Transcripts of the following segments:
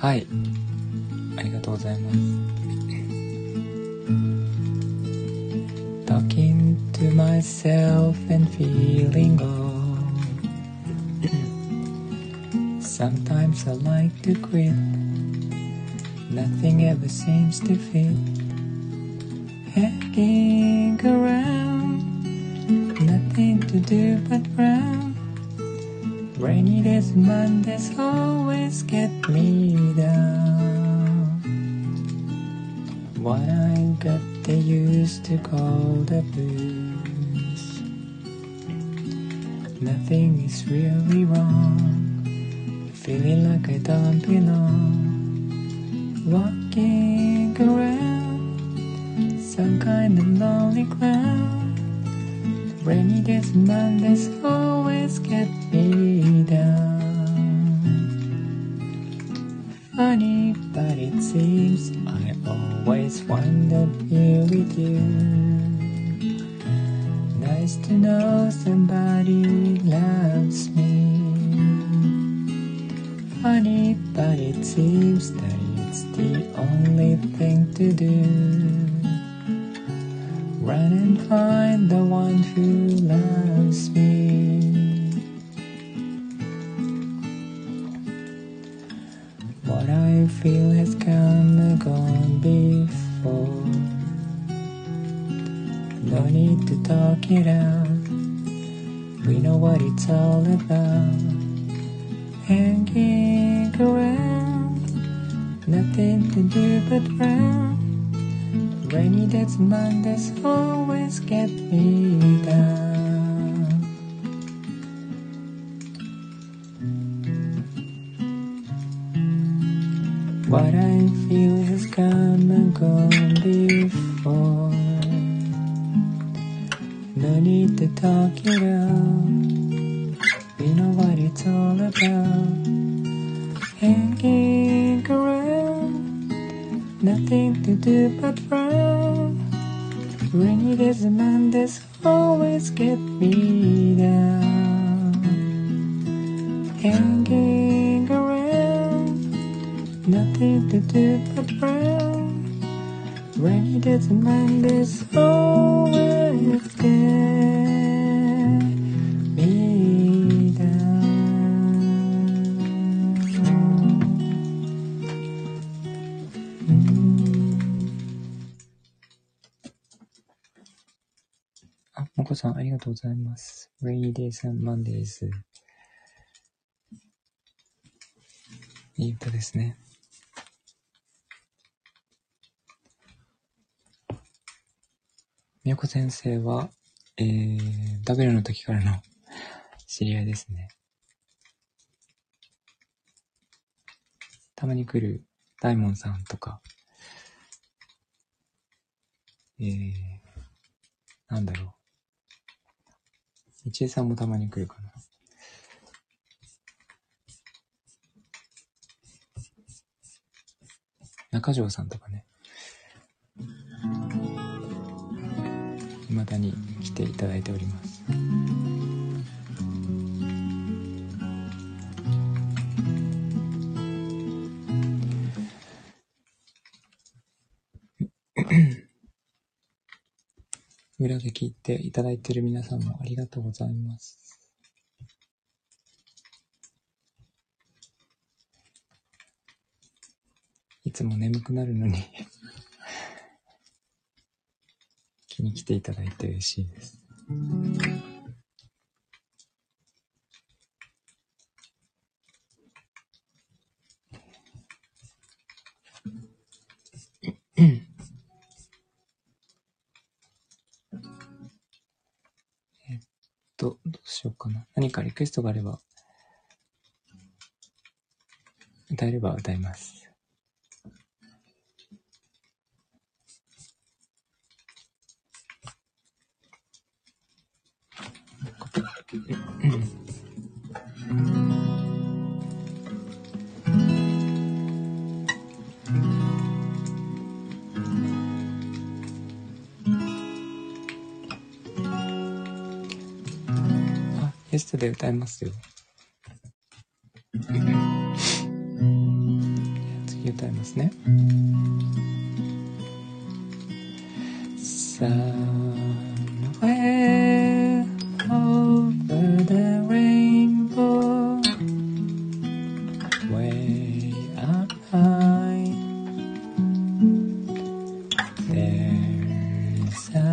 はい、ありがとうございます。Talking to myself and feeling old. Sometimes I like to quit. Nothing ever seems to fit. Hanging around, nothing to do but frown. Rainy days and Mondays always get me down. What I got they used to call the blues. Nothing is really wrong, feeling like I don't belong. Walking around some kind of lonely cloud. Rainy days and Mondays always get me down. Funny, but it seems I always wind up here with you. Nice to know somebody loves me. Funny, but it seems that it's the only thing to do. Run and find the one who loves me. What I feel has come and gone before. No need to talk it out. We know what it's all about. Hanging around, nothing to do but frown. Rainy days and Mondays always get me down. What I feel has come and gone before. No need to talk it out. We know what it's all about. Hanging around, nothing to do but frown. Rainy days and Mondays always get me down. Hanging around, nothing to do but frown. Rainy days and Mondays always get me down. もこさんありがとうございます。Rainy Days and Mondays。いい歌ですね。みよこ先生は、W の時からの知り合いですね。たまに来る大門さんとか、なんだろう。一恵さんもたまに来るかな。中条さんとかね。未だに来ていただいております。裏で聞いていただいている皆さんもありがとうございます。いつも眠くなるのに気に来ていただいて嬉しいです。どうしようかな。何かリクエストがあれば歌えれば歌います。ゲストで歌いますよ。 歌いますね。Somewhere over the rainbow, way up high, there's a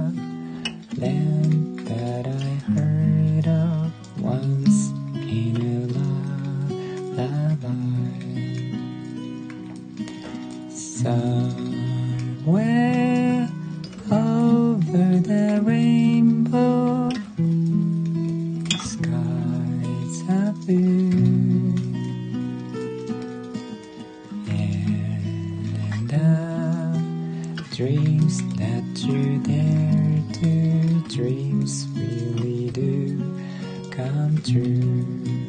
land that I heard of once in a lullaby. Somewhere over the rainbow, skies are blue, and dreams that you dare to dreams really do come true.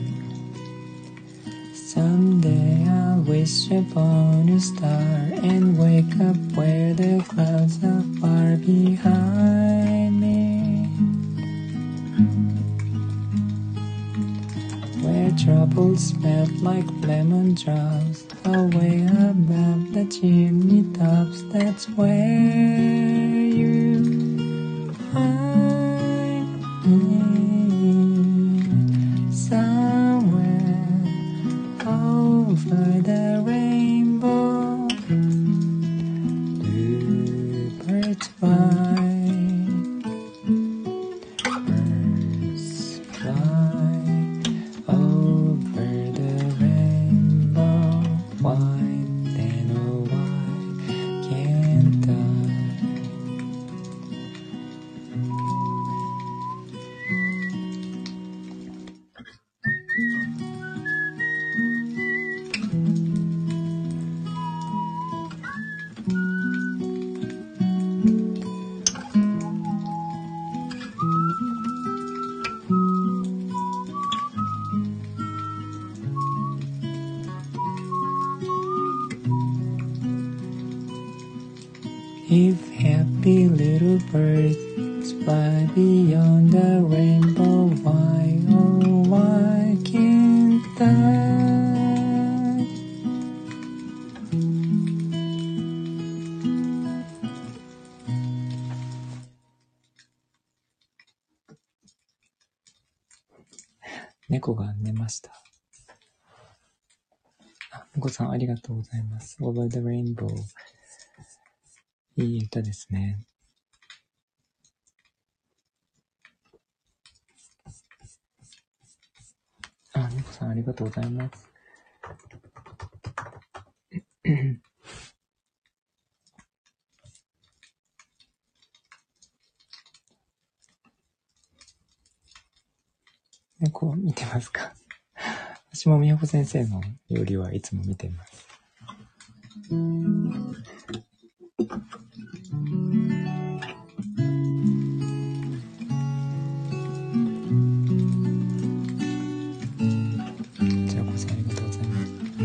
Someday I'll wish upon a star and wake up where the clouds are far behind me, where troubles melt like lemon drops away above the chimney tops. That's where you find me. Somewhere over the rainbow, bluebirds fly, birds fly over the rainbow. Why then, oh why can't I? If happy little birds fly beyond the rainbow, why, oh why can't I?猫が寝ました。猫さんありがとうございます。Over the Rainbow、いい歌ですね。猫さんありがとうございます。猫を見てますか？私もみやこ先生の料理はいつも見てます。じゃあこそありがとうございます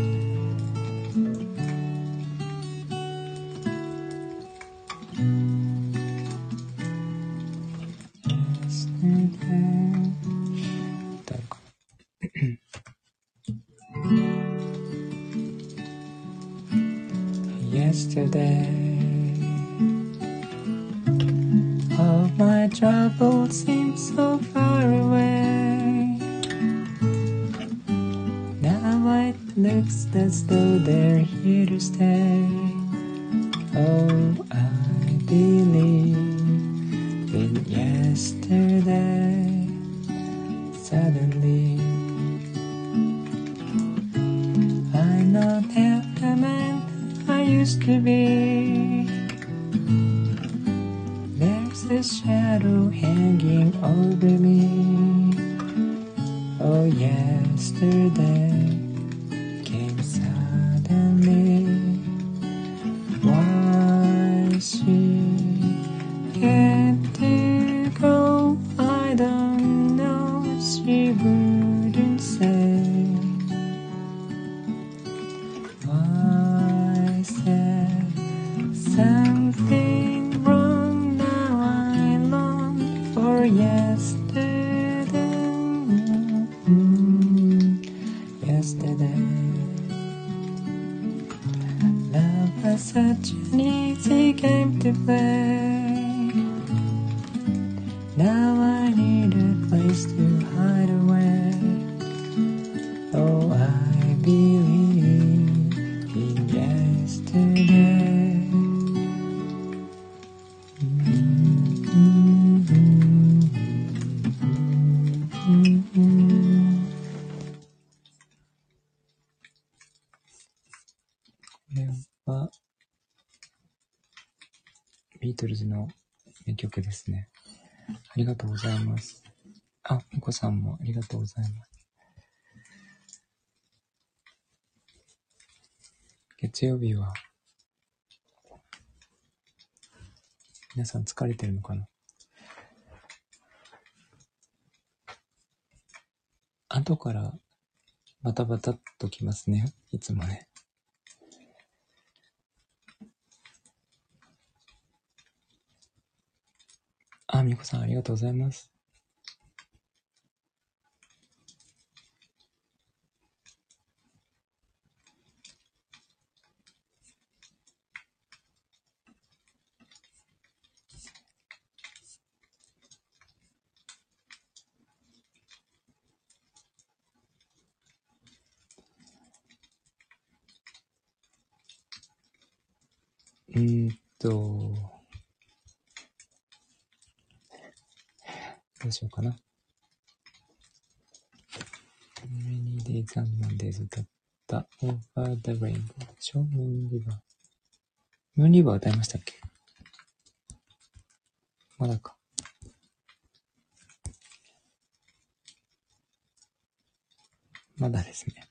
。Yesterday, all my troubles seem so far away. Now it looks as though they're here to stay. Oh, I believe in yesterday. Suddenly, I'm not half the man I used to be. There's a shadow hanging over me. Oh, yesterday came suddenly. Why she had to go, I don't know. She wouldn't say. I said something wrong. Now I long for yesterday. Yesterday. was such an easy game to play. Now I need a place to hide away. Oh, I believe in yesterday.これはビートルズの名曲ですね。ありがとうございます。あ、みこさんもありがとうございます。月曜日は皆さん疲れてるのかな。後からバタバタっときますね、いつもね。あ、みこさんありがとうございます。どうしようかな。Rainy Days and Mondays 歌った Over the Rainbow でしょ。ムーンリバー。ムーンリバー歌いましたっけ。まだか。まだですね。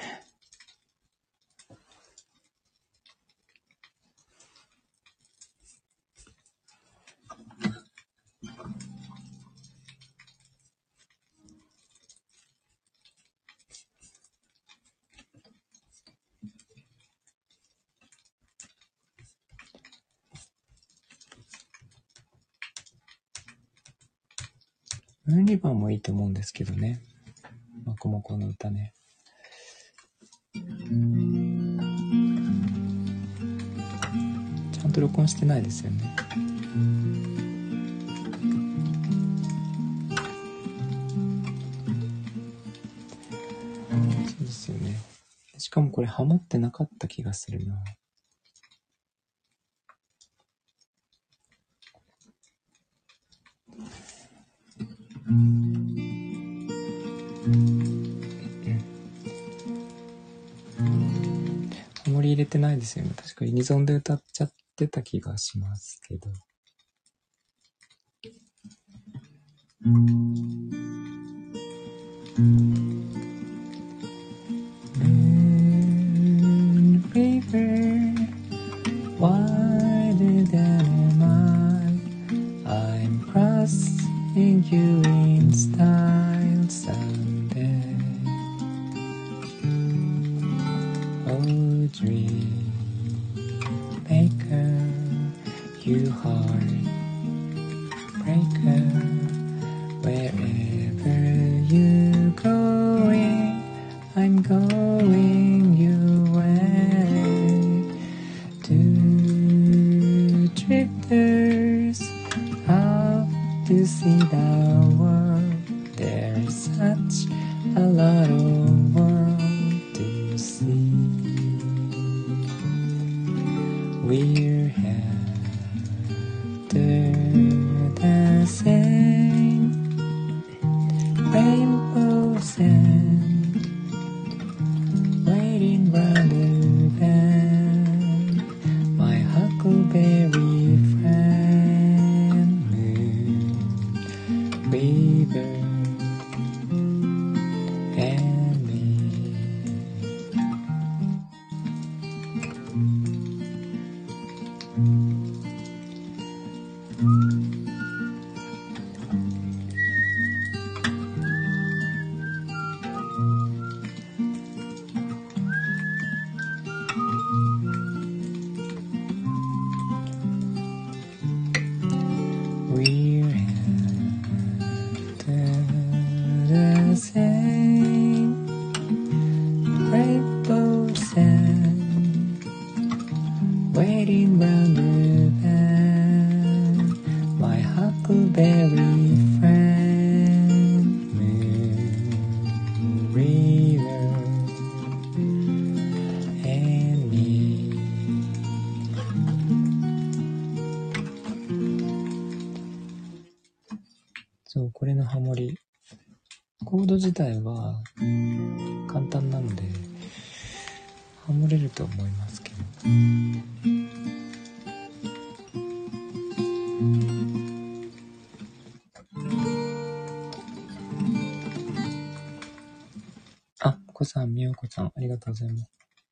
ムーンリバーもいいと思うんですけどね。マコモコの歌ね。ちゃんと録音してないですよね。そうですよね。しかもこれハモってなかった気がするな。ハモリ入れてないですよね。確かユニゾンで歌っちゃってた気がしますけど。Wider than mine, I'm crossing you in style someday. Oh, dream maker, you heart breaker, wherever you're going, I'm going your way. Two drifters out to see the world. There's such a lot of world to see. We're headed the same rainbow sand, waiting round the bend. My huckleberry friend, moon, river, and me. 体は簡単なのでハモれると思いますけど、あ、こさん、みよこさん、ありがとうございます。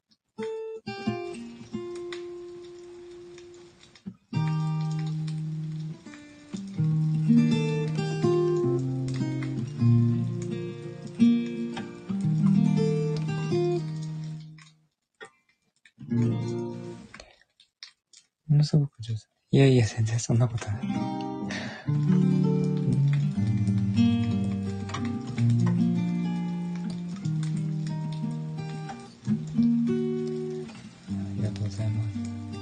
ものすごく上手。いやいや、全然そんなことない。ありがとうございます。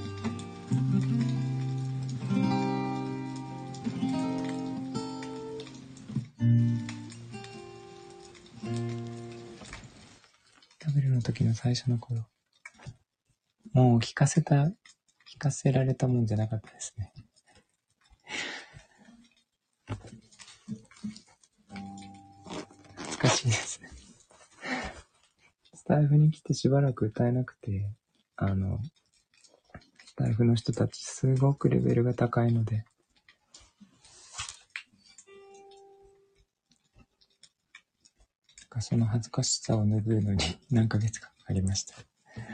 ダブルの時の最初の頃、もう聞かせられたもんじゃなかったですね。懐かしいですね。スタイフに来てしばらく歌えなくて、スタイフの人たちすごくレベルが高いので、その恥ずかしさを拭うのに何ヶ月かかかりました。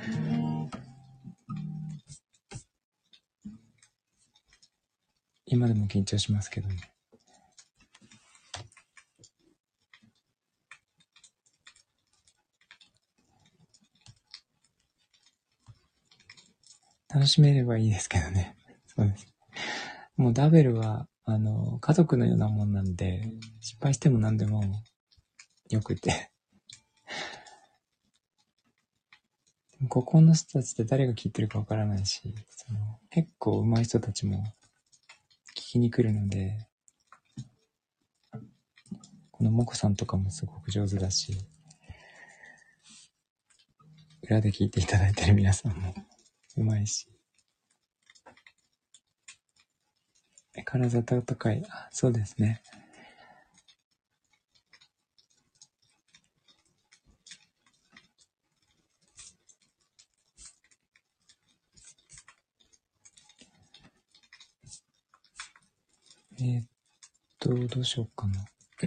今でも緊張しますけどね。楽しめればいいですけどね。そうです。もうダベルは家族のようなもんなんで、失敗しても何でもよくて。ここの人たちって誰が聞いてるかわからないし、結構上手い人たちも聞きに来るので、このモコさんとかもすごく上手だし、裏で聞いていただいてる皆さんも上手いし。体高い。あ、そうですね。どうしようかな。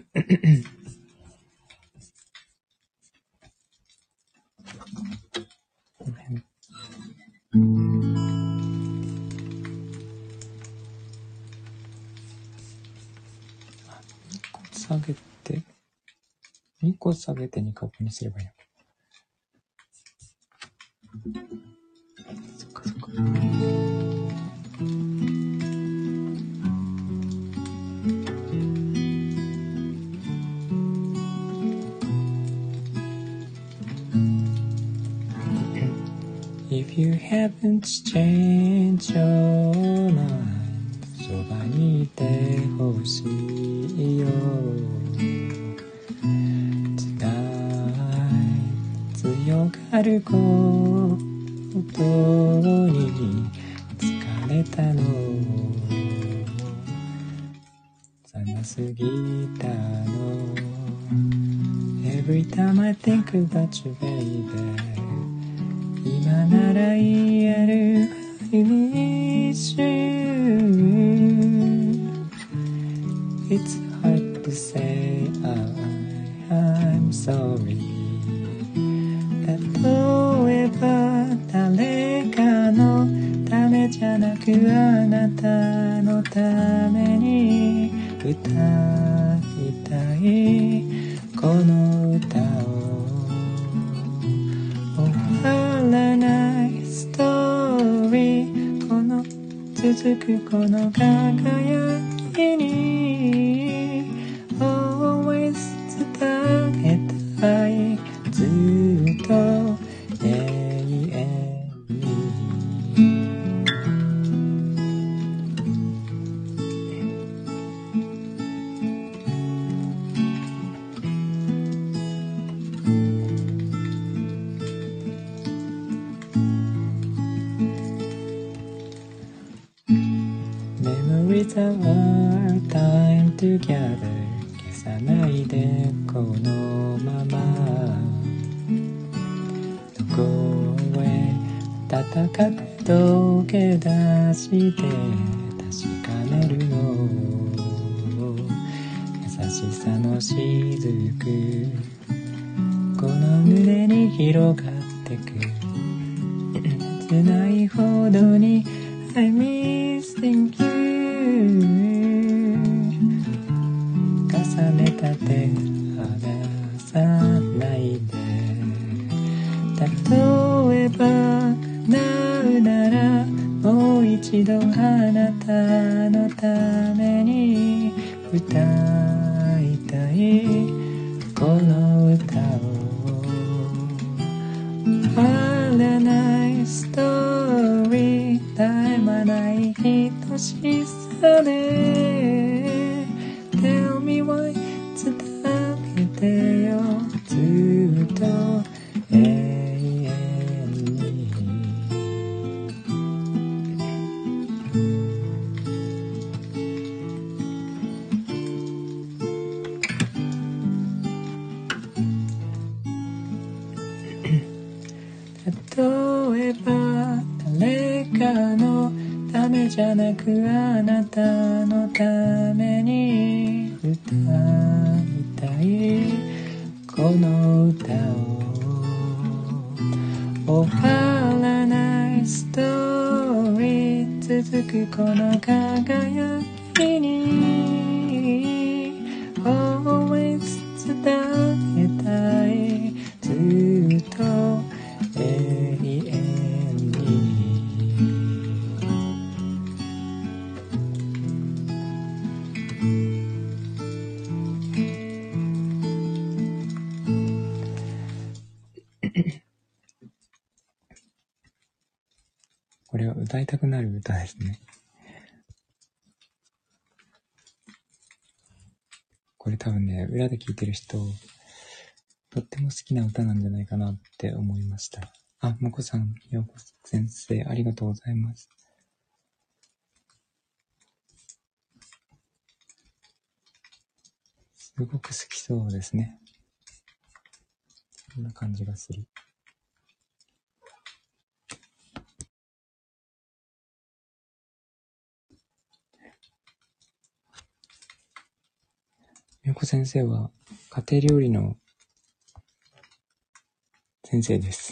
この辺。2個下げて2カップにすればいいのか。そっかそっか。If you haven't changed your mind そばにいてほしいよ強がることに疲れたの寒すぎたの Every time I think about you baby 今なら言える I miss you It's hard to say I'm sorry 例えば誰かのためじゃなくあなたのために歌いたいこの歌を終わらないストーリーこの続くこの輝きに Always 伝えたいずっと永遠にMemories of our time together 消さないでこの戦って溶け出して確かめるの、優しさの雫この胸に広がってく、切ないほどに I missing you 重ねた手離さないで、例えばなならもう一度あなたのために歌いたいこの歌を、終わらないストーリー絶え間ない愛しさで Tell me why 伝えてよずっと永遠に。例えば誰かのためじゃなくあなたのために歌いたいこの歌を、終わらないストーリー続くこの輝きに Always 伝えたいずっと永遠に。これは歌いたくなる歌ですね。これ多分ね、裏で聴いてる人とっても好きな歌なんじゃないかなって思いました。あ、もこさん、ようこ先生、ありがとうございます。すごく好きそうですね。こんな感じがする。ようこ先生は家庭料理の先生です。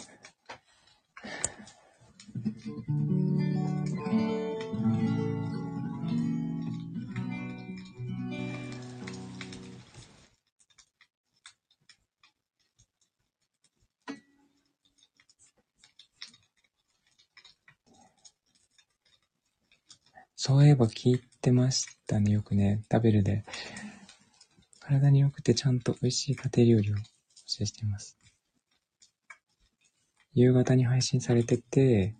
そういえば聞いてましたね、よくね、食べるで。体に良くてちゃんと美味しい家庭料理を教えています。夕方に配信されてて、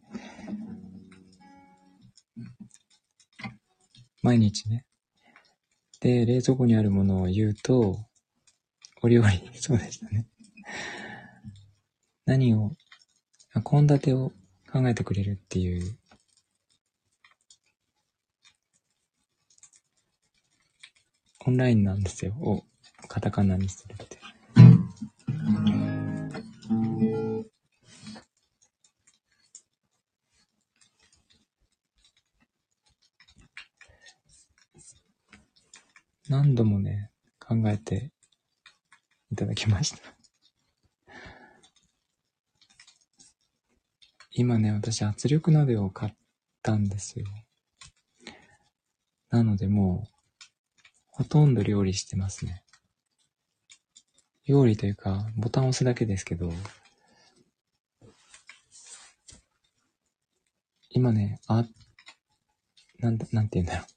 毎日ね。で、冷蔵庫にあるものを言うと、お料理、そうでしたね。何を、献立を考えてくれるっていう、オンラインなんですよ。をカタカナにするって。何度もね、考えていただきました。今ね、私圧力鍋を買ったんですよ。なのでもう、ほとんど料理してますね。料理というか、ボタンを押すだけですけど、今ね、なんて言うんだろ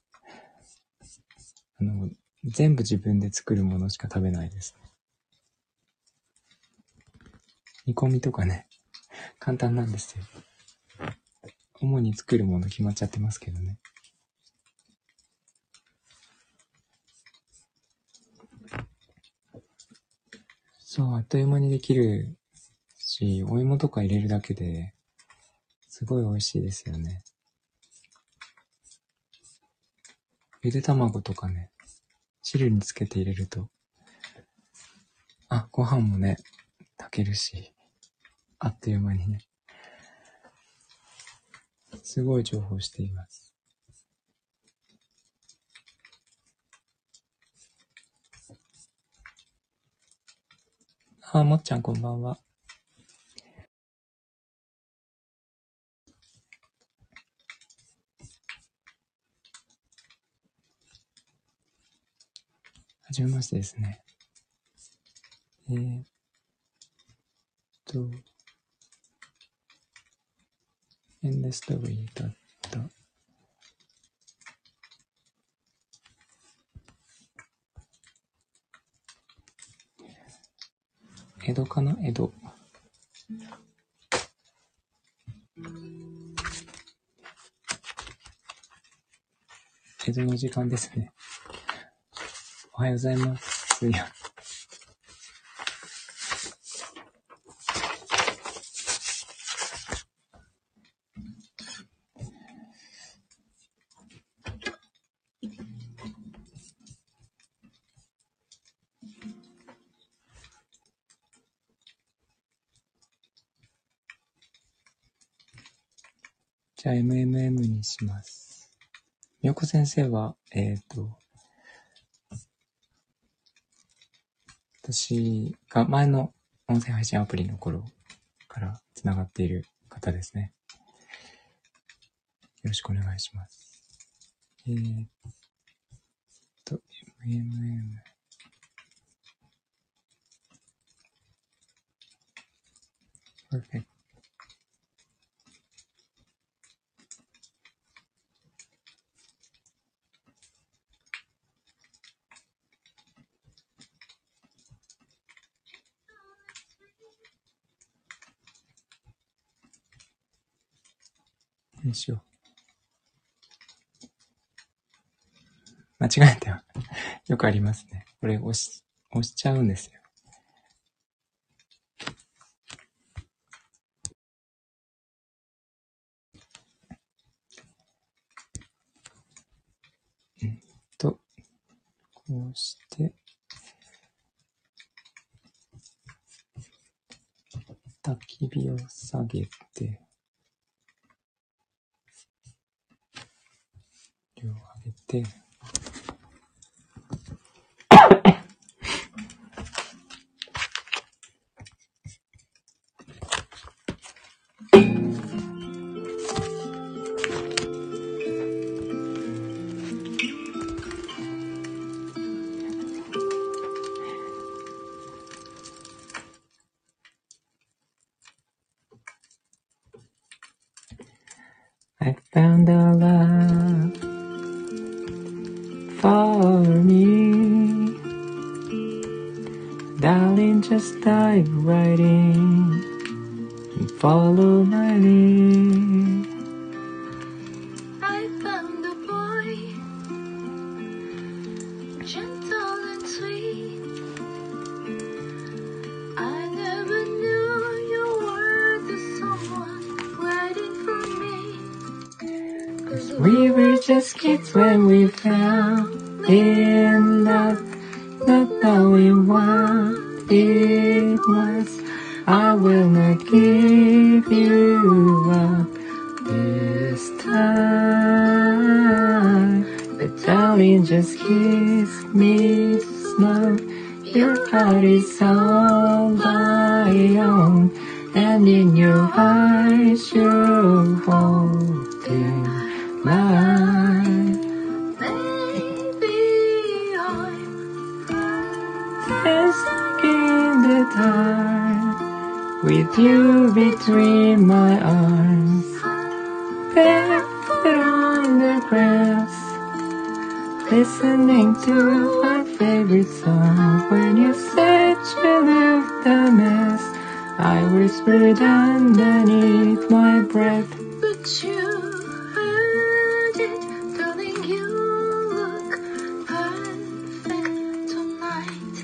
う。全部自分で作るものしか食べないです。煮込みとかね、簡単なんですよ。主に作るもの決まっちゃってますけどね。そう、あっという間にできるし、お芋とか入れるだけですごい美味しいですよね。ゆで卵とかね、汁につけて入れると、ご飯もね、炊けるし、あっという間にね。 すごい情報しています。もっちゃんこんばんは。はじめましてですね。エンドストーリーだった。江戸かな？江戸。江戸の時間ですね。おはようございます。じゃあ MMM にします。みよこ先生は、私が前の音声配信アプリの頃からつながっている方ですね。よろしくお願いします。MMM。Perfect。にしよう。間違えたよ。よくありますね。これ押しちゃうんですよ。こうして、焚き火を下げて、量を上げて、I found a love for me. Darling, just dive right in and follow my lead. I found a boy, gentle and sweet. I never knew you were the someone waiting for me. 'Cause We were just kids when we fell in love, not knowing what it was. I will not give you up this time. But darling, just kiss me slow. Your heart is all I own, and in your eyes you're holding mine. maybe I'm Dancing in the dark, with you between my arms, barefoot on the grass, listening to our favorite song. When you said you loved the mess, I whispered underneath my breath, but you heard it, darling, you look perfect tonight.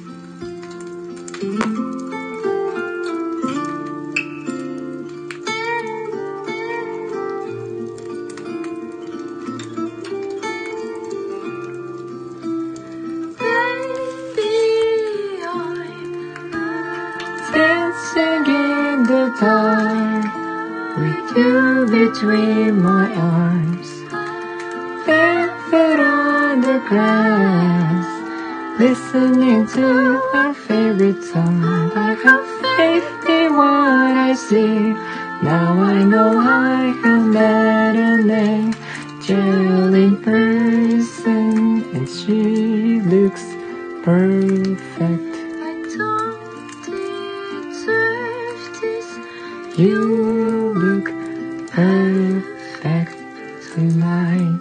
Baby, I'm dancing in the dark, with you between my arms, barefoot on the grass, listening to our favorite song. I have faith in what I see. Now I know I have met an angel in person, and she looks perfect. I don't deserve this. You look perfect tonight.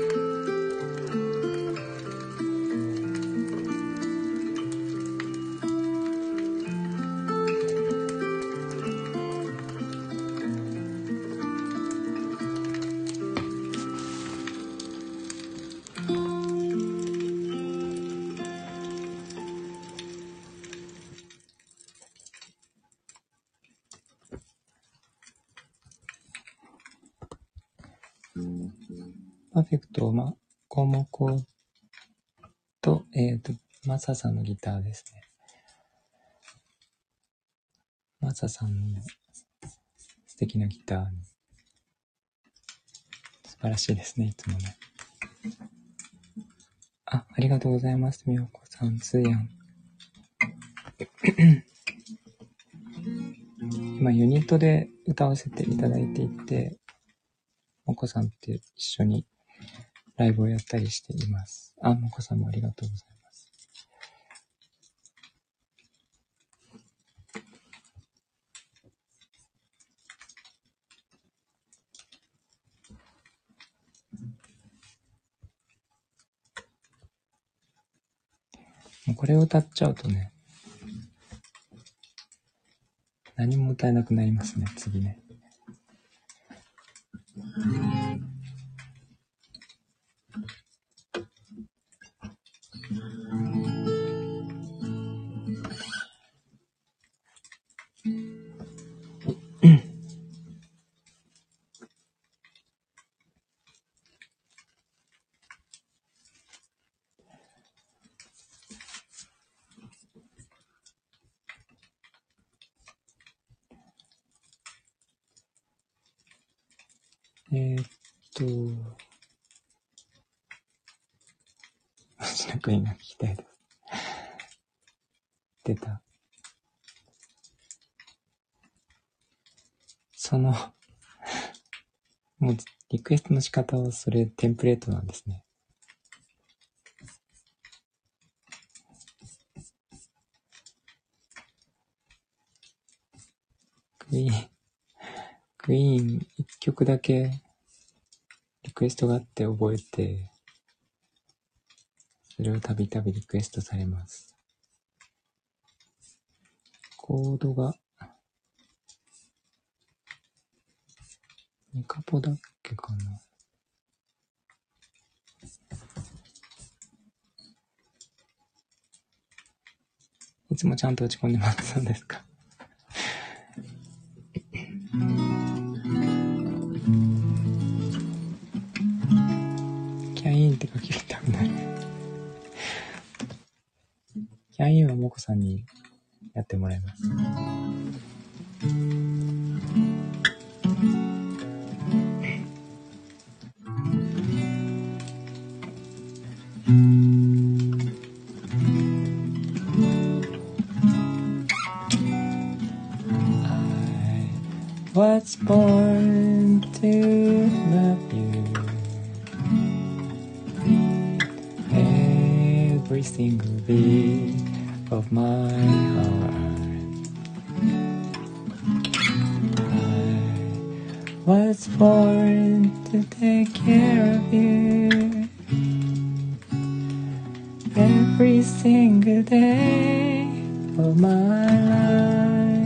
パーフェクト、コモコと、マサさんのギターですね。マサさんの素敵なギター。素晴らしいですね、いつもね。ありがとうございます。みよこさん、つーやん。今、ユニットで歌わせていただいていて、もこさんって一緒にライブをやったりしています。もこさんもありがとうございます。もうこれを歌っちゃうとね、何も歌えなくなりますね、次ね。星野くんが聞きたいです。出た。もうリクエストの仕方はそれテンプレートなんですね。クイーン一曲だけリクエストがあって覚えて、それをたびたびリクエストされます。コードがニカポだっけかな。いつもちゃんと打ち込んでますそうですか。キャインって書きたくなる。キャインはモコさんにやってもらいます。was born to love you. Every single beat of my heart. I was born to take care of you. Every single day of my life.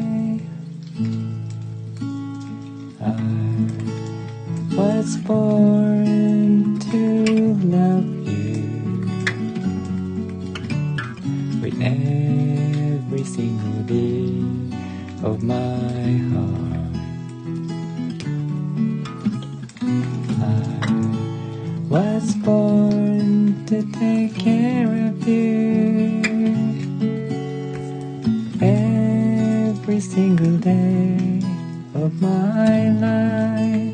I was born to love you with every single beat of my heart. I was born to take care of you every single day of my life.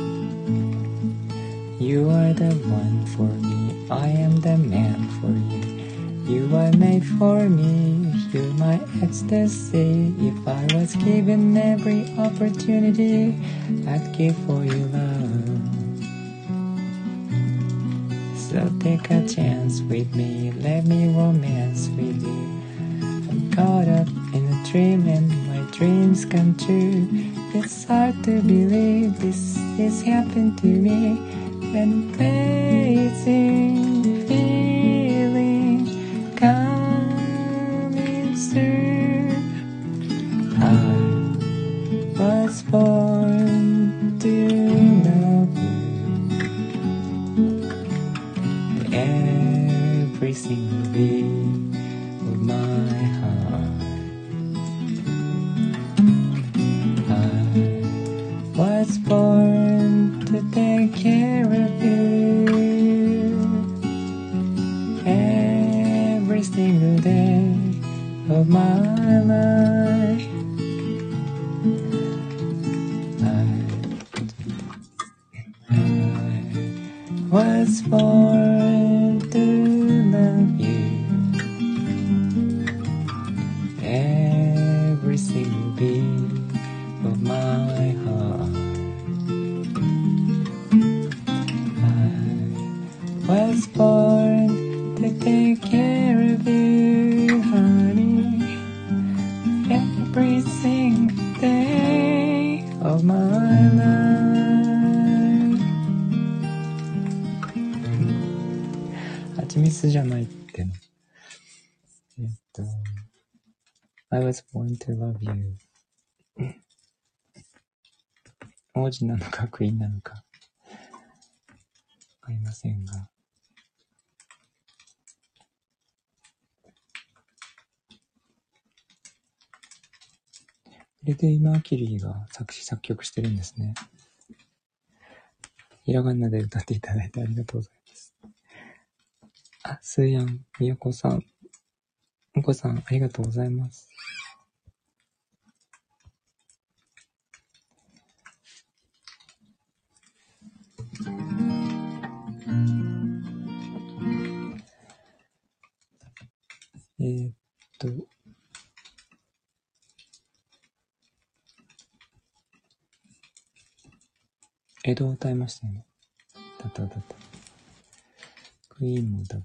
You are the one for me, I am the man for you. You are made for me, you're my ecstasy. If I was given every opportunity, I'd give for you love. So take a chance with me, let me romance with you. I'm caught up in a dream and my dreams come true. It's hard to believe this is happened to me. An amazing feeling coming through. I was born to love you. Every single beat of my heart. I was born to take care of you. Every single day of my life. I was born to love you. Every single beat of my heart. I was born to take care of you, honey. Every single day of my life. 蜂蜜じゃないっての。I was born to love you. 王子なのかクイーンなのかわかりませんが。フレディ・マーキュリーが作詞作曲してるんですね。ひらがなで歌っていただいてありがとうございます。あ、スーヤン、みよこさん、もこさん、ありがとうございます。江戸を歌いましたよね。だった。クイーンもだった。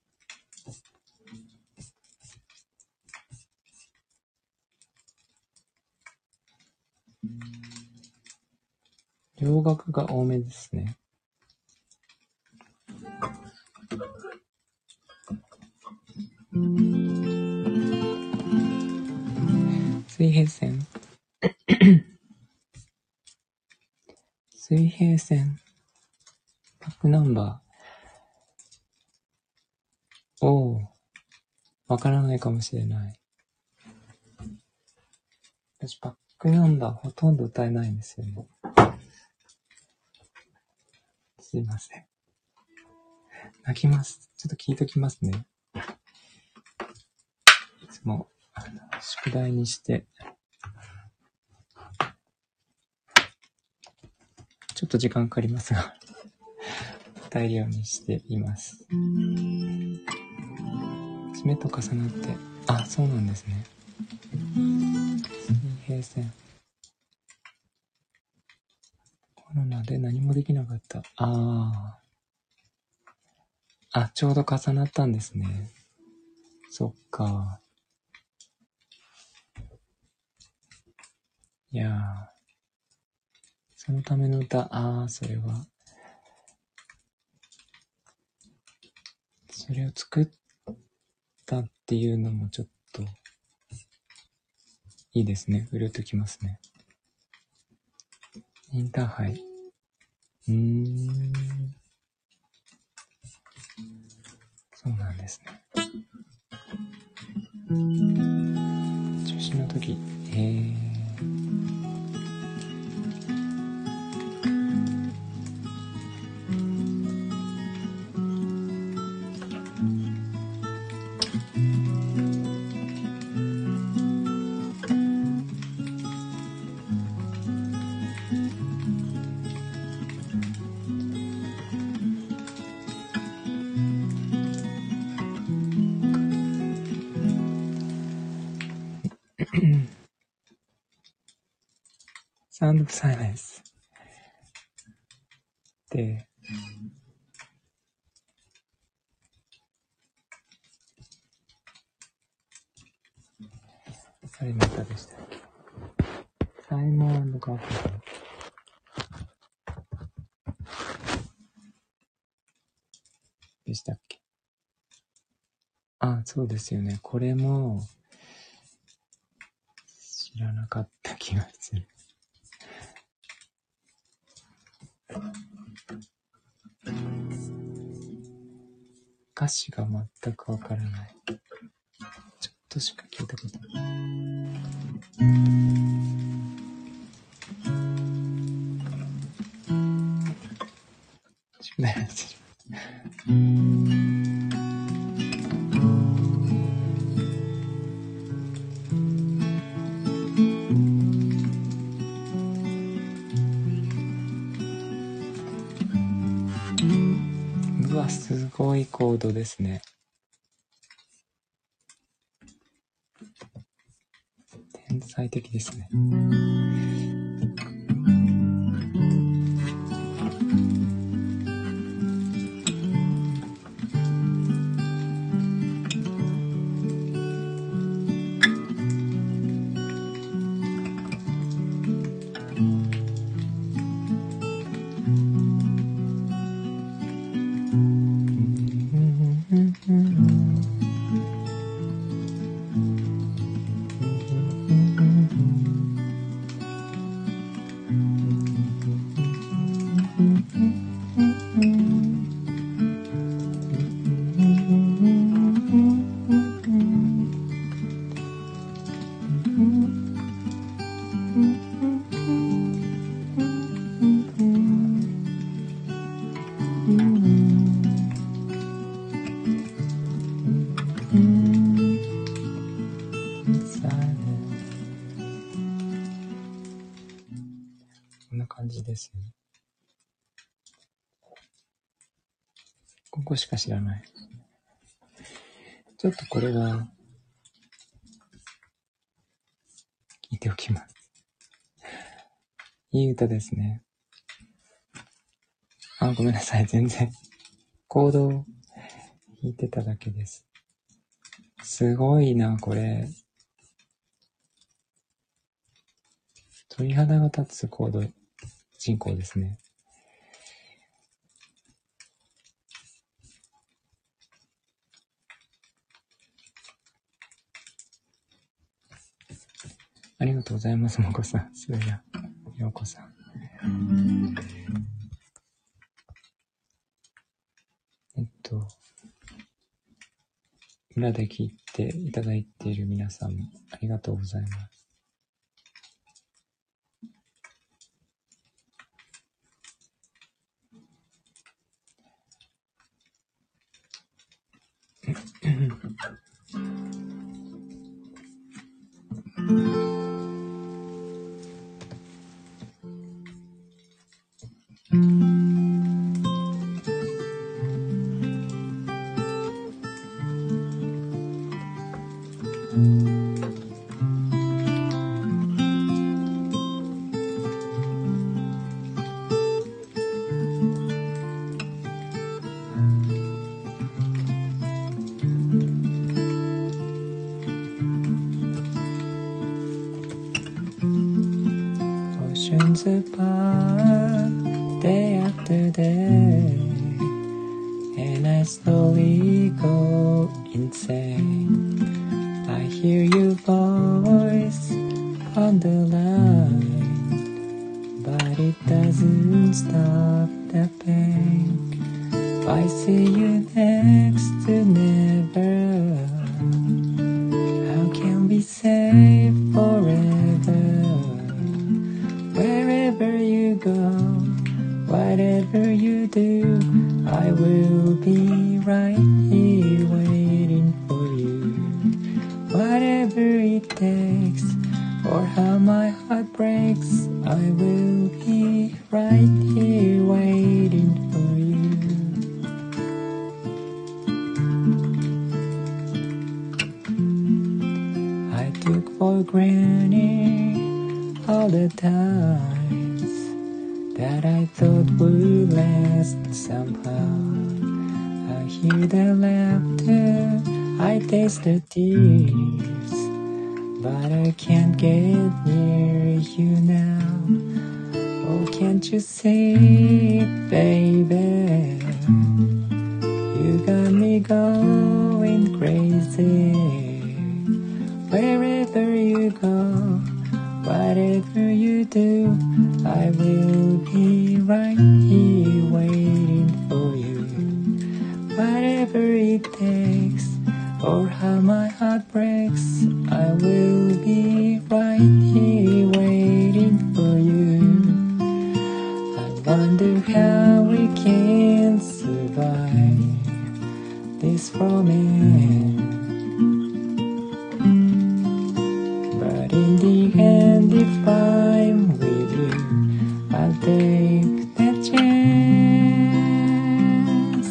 洋楽が多めですね。水平線水平線バックナンバーわからないかもしれない。私バックナンバーほとんど歌えないんですよね。すいません。泣きます。ちょっと聞いときますね。いつも宿題にしてちょっと時間かかりますが歌えるようにしています。爪と重なって、あ、そうなんですね。水平線。コロナで何もできなかった。ちょうど重なったんですね。そっか。いやー、そのための歌、それは。それを作ったっていうのもちょっといいですね。うるっときますね。インターハイ。そうなんですね。中止の時、 Sound of silence で、誰の歌でしたっけ？サイモン&ガーファンクルでしたっけ？あ、そうですよね。これも知らなかった気がする。歌詞が全くわからない。ちょっとしか聞いたことない。宿題してる。うわ、すごいコードですね。天才的ですね。こんな感じですよね。ここしか知らない。ちょっとこれは聞いておきます。いい歌ですね。あ、ごめんなさい。全然コードを弾いてただけです。すごいな、これ。鳥肌が立つコード進行ですね。ありがとうございます、もこさん。すやようこさん。裏で聞いていただいている皆さんもありがとうございます。Oceans apart, day after day, and I slowly go insane. I hear your voice on the line, but it doesn't stop the pain. I see you next to never. How can we say forever?Wherever you go, whatever you do, I will be right here waiting for you. Whatever it takes, or how my heart breaks, I will be right here waiting for you. I took for granted all the times that I thought would last somehow. I hear the laughter, I taste the tears, but I can't get near you now. Oh, can't you see it, baby? You got me going crazy. Wherever you go, whatever you do, I will be right here waiting for you. Whatever it takes, or how my heart breaks, I will be right here waiting for you. I wonder how we can survive this romance. But in the end, if I'm with you, I'll take that chance.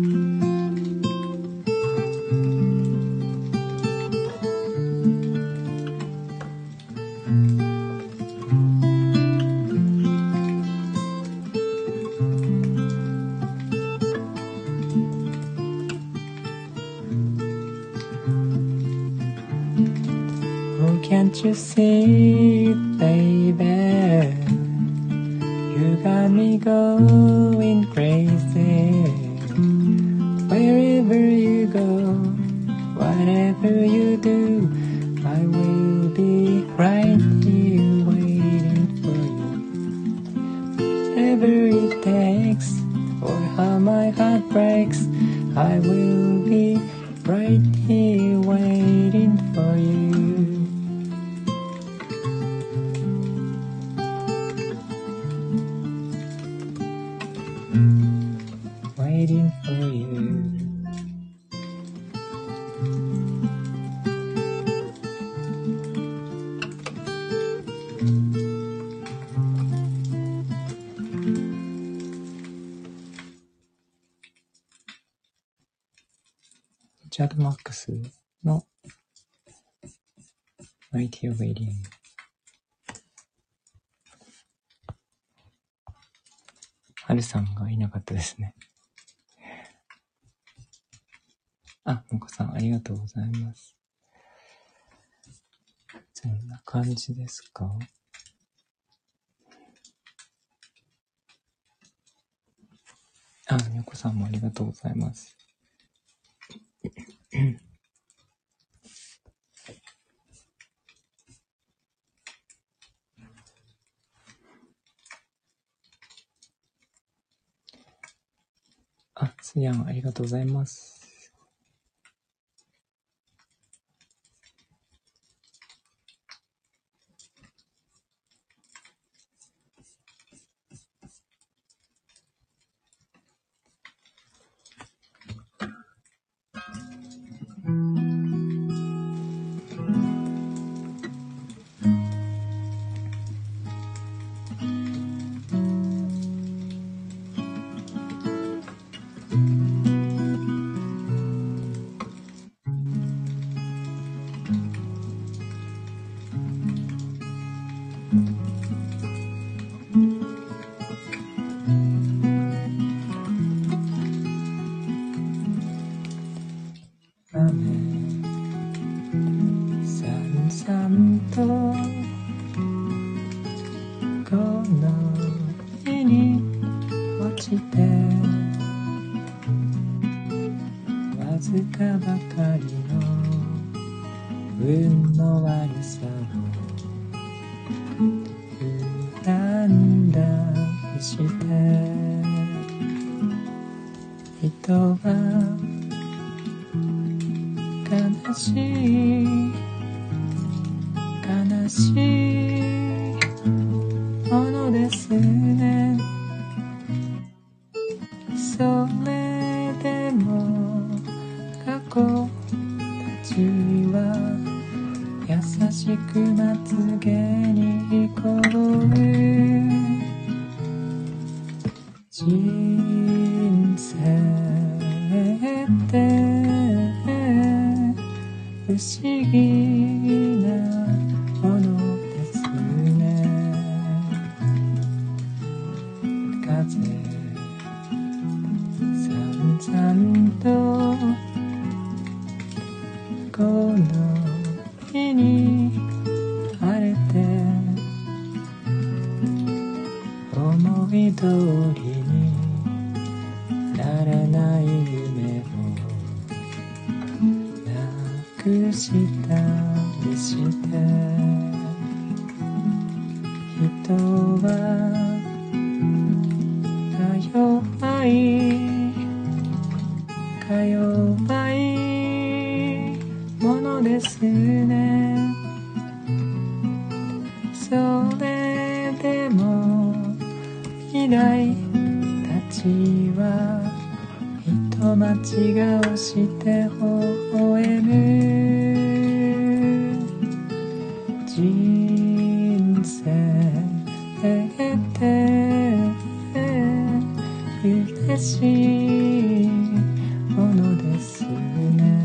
Oh, can't you see it, baby? You got me going crazy. Wherever you go, whatever you do, I will be right here waiting for you. Whatever it takes, or how my heart breaks, I will be right here waiting for you. Waiting for you.チャートマックスの Mighty Waiting。はるさんがいなかったですね。あ、もこさんありがとうございます。そんな感じですか？あ、みこさんもありがとうございます。あ、すやんありがとうございます。不思議なものですね。 風さんとこの日に晴れて思い通りにならない夢をなくしたりして人はか弱いものですね。それでも未来たちは人待ち顔して微笑む人生って嬉しいものですね。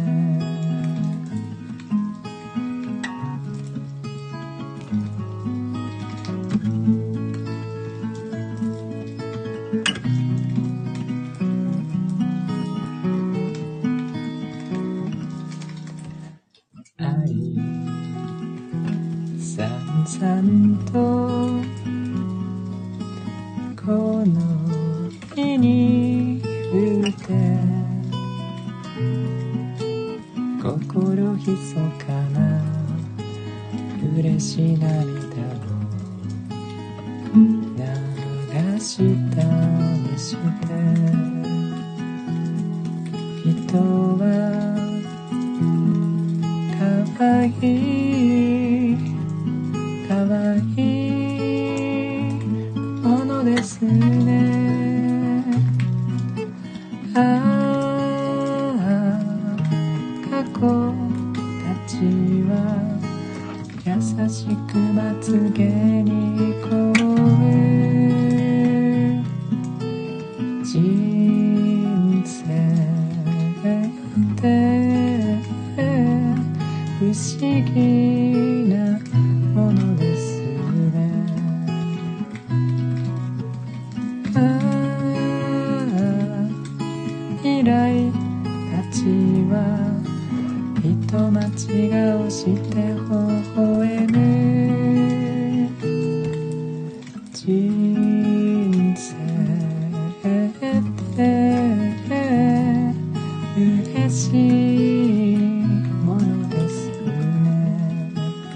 さんとこの日に触れて心ひそかな嬉し涙を流したりして人はかわいいかわいいものですね。ああ過去たちは優しくまつげにこう人生って不思議なものですね。ああ未来たちは人待ち顔して微笑む人生って嬉しいものですね。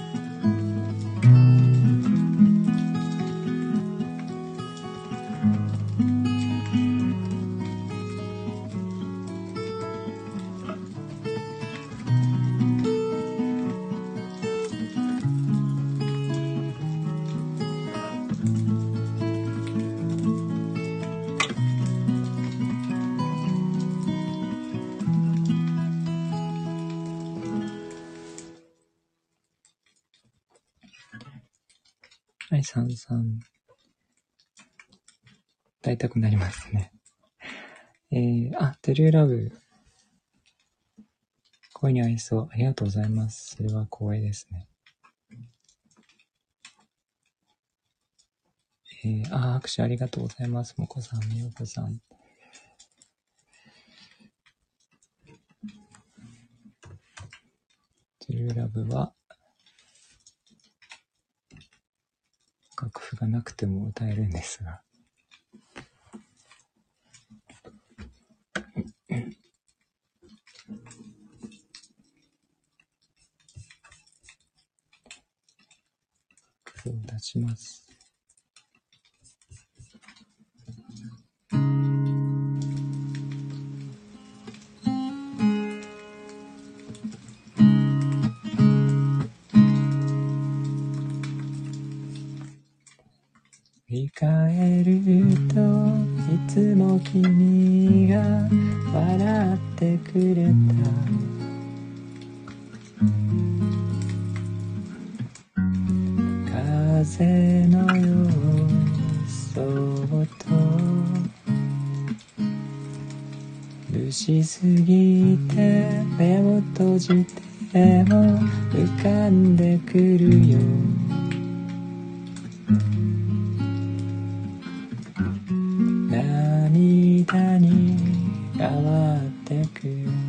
はい、さん歌いたくなりますね。トゥルーラブ恋に合いそう。ありがとうございます。それは光栄ですね。拍手ありがとうございます。もこさん、みよこさん。トゥルーラブは楽譜がなくても歌えるんですが。楽譜を出します。振り返るといつも君が笑ってくれた。風のようそっと無視すぎて目を閉じても浮かんでくるよ。 変わってく。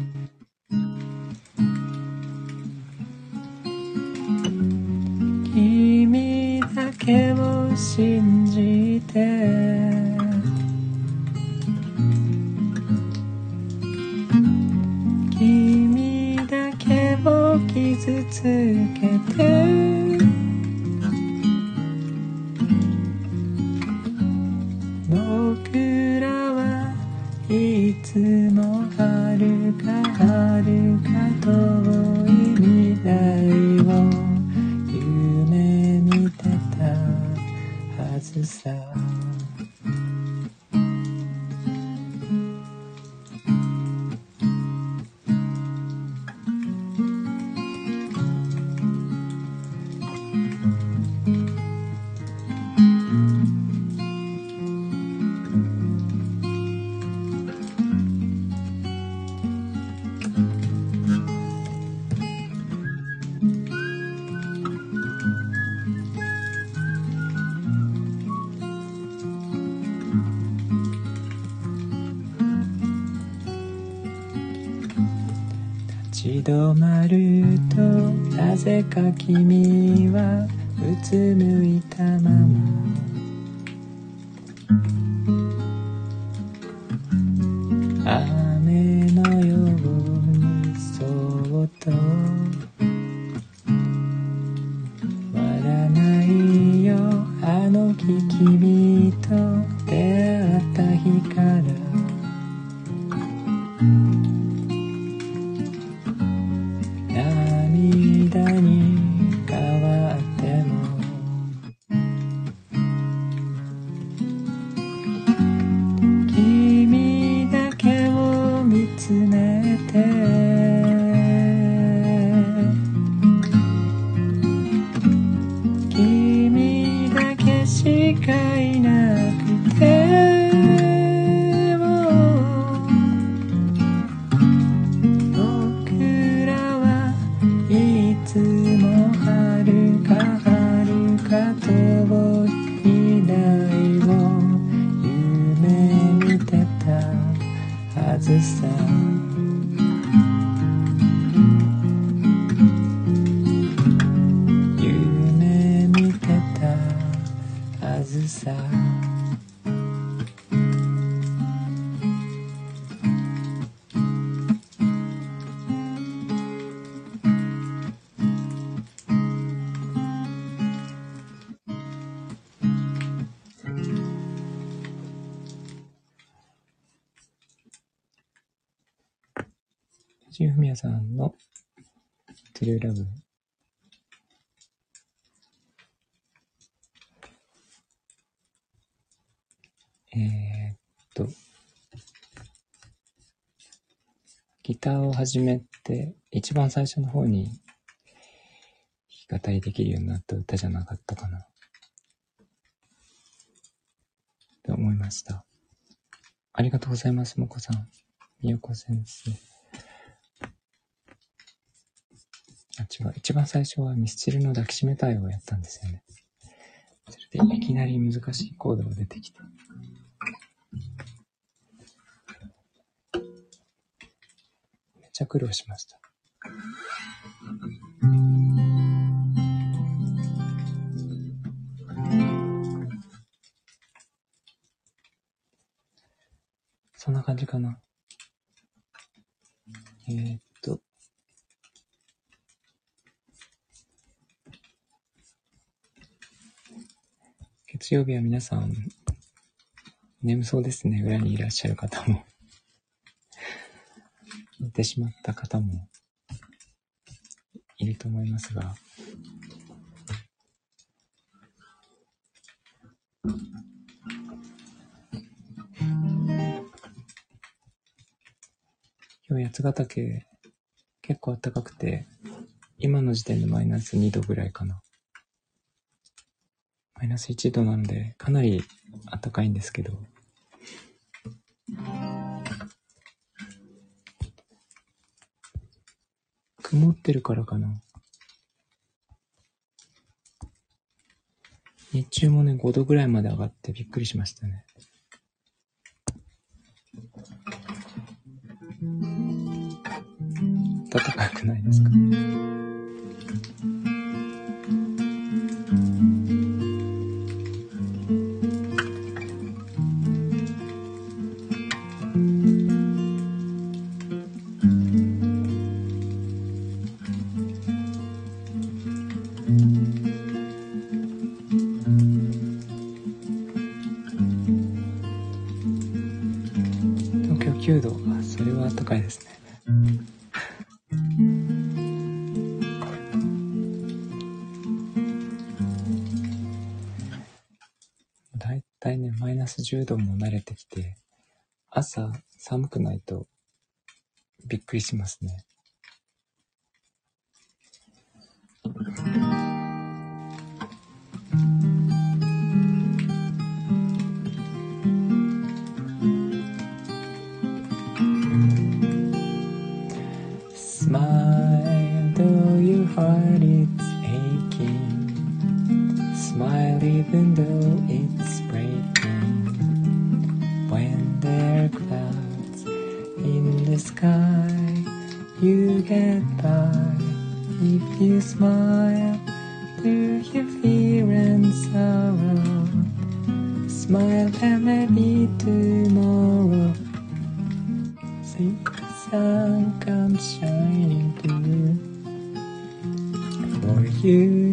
君だけを信じて君だけを傷つけて僕らはいつも遥か遥か遠い未来を夢見てたはずさ。立ち止まるとなぜか君はうつむいたまま雨のようにそっと割らないよあの日君と出会った日から涙に変わっても君だけを見つめて君だけしかいなくてさ夢見てたはずさ。藤井フミヤさんのトゥルーラブ。ギターを始めて一番最初の方に弾き語りできるようになった歌じゃなかったかなと思いました。ありがとうございます。もこさん、みよこ先生。違う。一番最初はミスチルの抱きしめたいをやったんですよね。それでいきなり難しいコードが出てきて。めっちゃ苦労しました。そんな感じかな。月曜日は皆さん眠そうですね。裏にいらっしゃる方も寝てしまった方もいると思いますが、今日八ヶ岳結構暖かくて、今の時点でマイナス2度ぐらいかな。マイナス1度なのでかなり暖かいんですけど、曇ってるからかな。日中もね5度ぐらいまで上がってびっくりしましたね。 暖かくないですか？東京9度。あ、それは暖かいですね。だいたいね、マイナス10度も慣れてきて、朝寒くないとびっくりしますね。Smile though your heart is aching. Smile even though it's breaking. When there are clouds in the sky, you get by. If you smile through your fear and sorrow, smile and maybe tomorrow the sun comes shining through for you.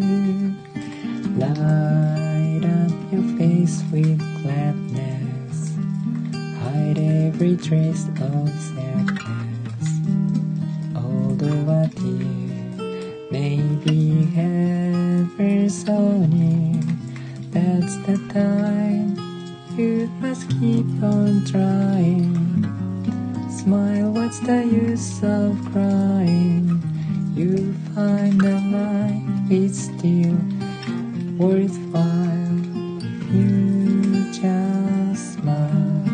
Light up your face with gladness, hide every trace of sadness. Although a tear may be ever so near, that's the time you must keep on trying. Smile, what's the use of crying? You'll find that life is still worthwhile if you just smile.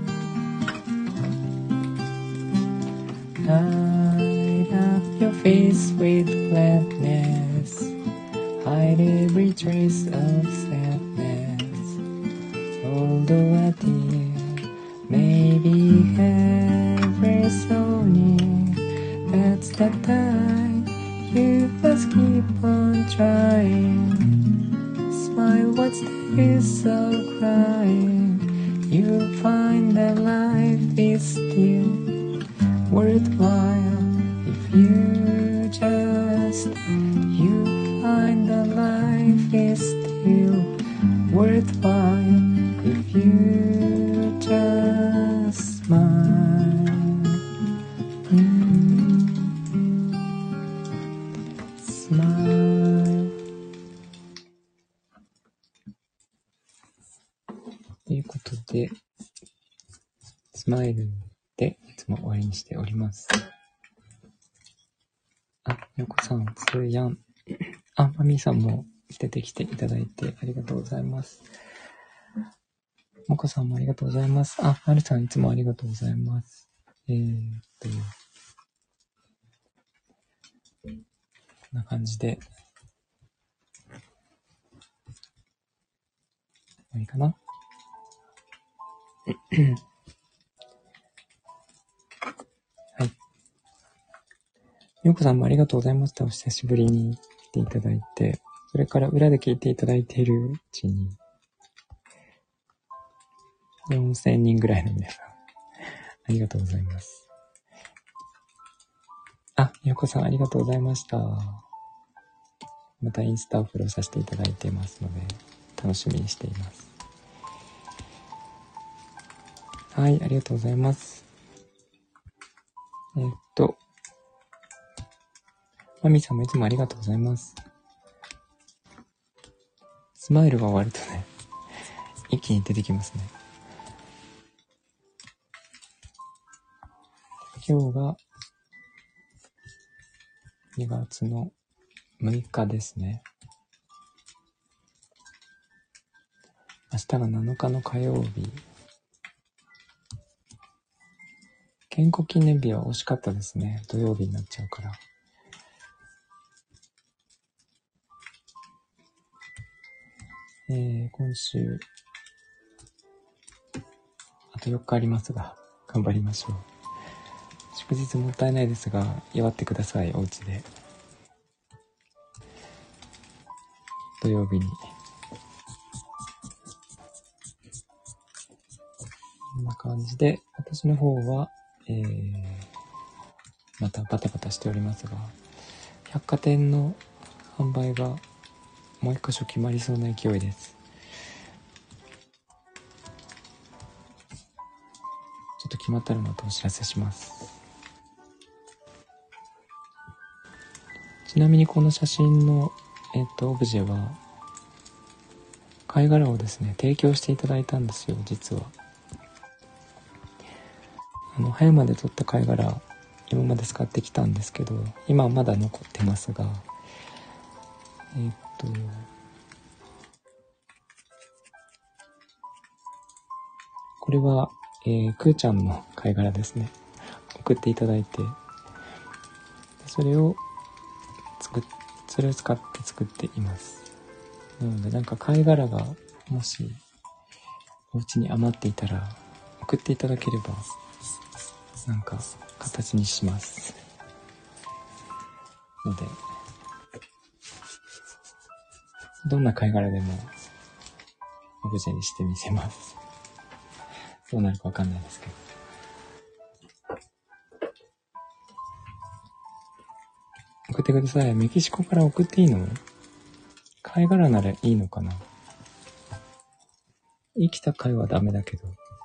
Light up your face with gladness, hide every trace of sadness. Although a tear may be ever so near, that's the time you must keep on trying. Smile, what's the use of crying? You'll find that life is still worthwhile if you just, you find that life is still worthwhile if you just smile. Smile ということで、スマイルでいつも終わりにしております。あ、よこさん、つやん。あ、まみさんも出てきていただいてありがとうございます。もこさんもありがとうございます。あ、はるさんいつもありがとうございます。こんな感じで、終わりかなはい。よこさんもありがとうございました。お久しぶりに来ていただいて、それから裏で聞いていただいているうちに、4000人ぐらいの皆さん、ありがとうございます。あ、よこさんありがとうございました。またインスタをフォローさせていただいてますので、楽しみにしています。はい、ありがとうございます。まみさんもいつもありがとうございます。スマイルが終わるとね、一気に出てきますね。今日が2月の6日ですね。明日が7日の火曜日。建国記念日は惜しかったですね。土曜日になっちゃうから。今週、あと4日ありますが、頑張りましょう。 祝日もったいないですが、祝ってください、お家で。土曜日に。こんな感じで、私の方は、またバタバタしておりますが、百貨店の販売がもう一箇所決まりそうな勢いです。ちょっと決まったらまたお知らせします。ちなみにこの写真の、オブジェは貝殻をですね提供していただいたんですよ。実は葉山で撮った貝殻今まで使ってきたんですけど、今はまだ残ってますが、これは、くーちゃんの貝殻ですね。送っていただいて、それを使って作っています。なのでなんか貝殻がもしお家に余っていたら送っていただければなんか形にしますので、どんな貝殻でもオブジェにしてみせます。どうなるかわかんないですけど。送ってください。メキシコから送っていいの？貝殻ならいいのかな？生きた貝はダメだけど。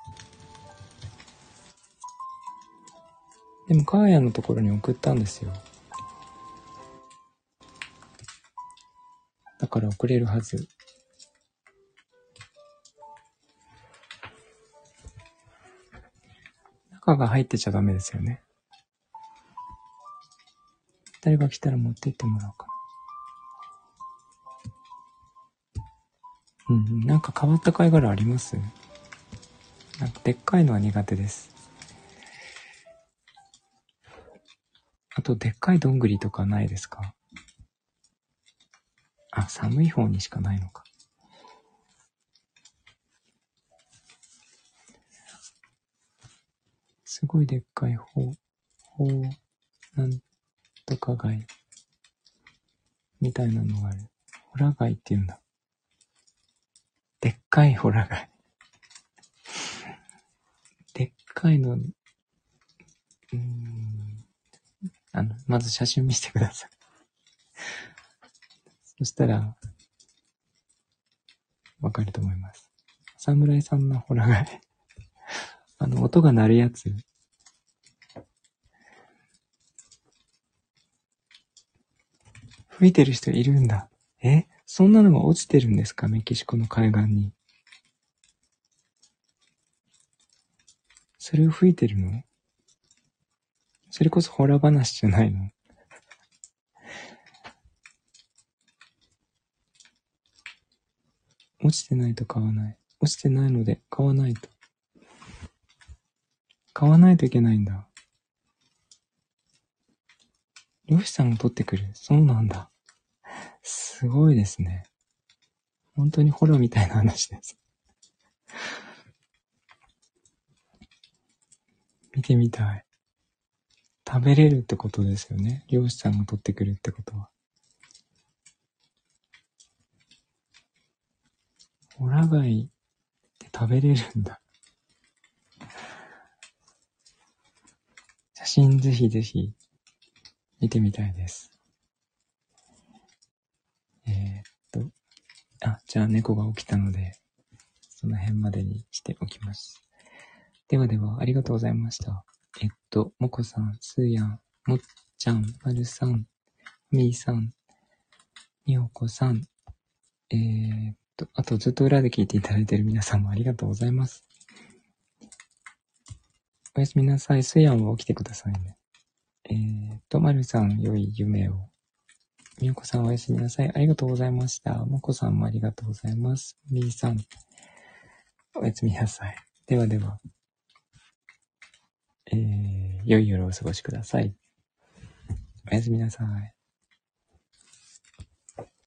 でもカーヤのところに送ったんですよ。だから送れるはず。中が入ってちゃダメですよね。誰が来たら持って行ってもらおうかな。なんか変わった貝殻あります？なんかでっかいのは苦手です。あとでっかいどんぐりとかないですか？あ、寒い方にしかないのか。すごいでっかいなんとか貝みたいなのがある。ホラ貝っていうんだ。でっかいホラ貝。でっかいの、まず写真見せてください。そしたら、わかると思います。侍さんのホラ貝。音が鳴るやつ。吹いてる人いるんだ。そんなのが落ちてるんですか？メキシコの海岸に。それを吹いてるの？それこそホラ話じゃないの？落ちてないと買わない。落ちてないので買わないと。買わないといけないんだ。漁師さんが取ってくる。そうなんだ。すごいですね。本当にホラみたいな話です。見てみたい。食べれるってことですよね。漁師さんが取ってくるってことは。ホラ貝って食べれるんだ。写真ぜひぜひ見てみたいです。じゃあ猫が起きたので、その辺までにしておきます。ではでは、ありがとうございました。もこさん、すーやん、もっちゃん、まるさん、みーさん、みほこさん、あとずっと裏で聞いていただいている皆さんもありがとうございます。おやすみなさい。すーやんは起きてくださいね。まるさん、良い夢を。みよこさんおやすみなさい。ありがとうございました。もこさんもありがとうございます。みーさん、おやすみなさい。ではでは、良い夜をお過ごしください。おやすみなさい。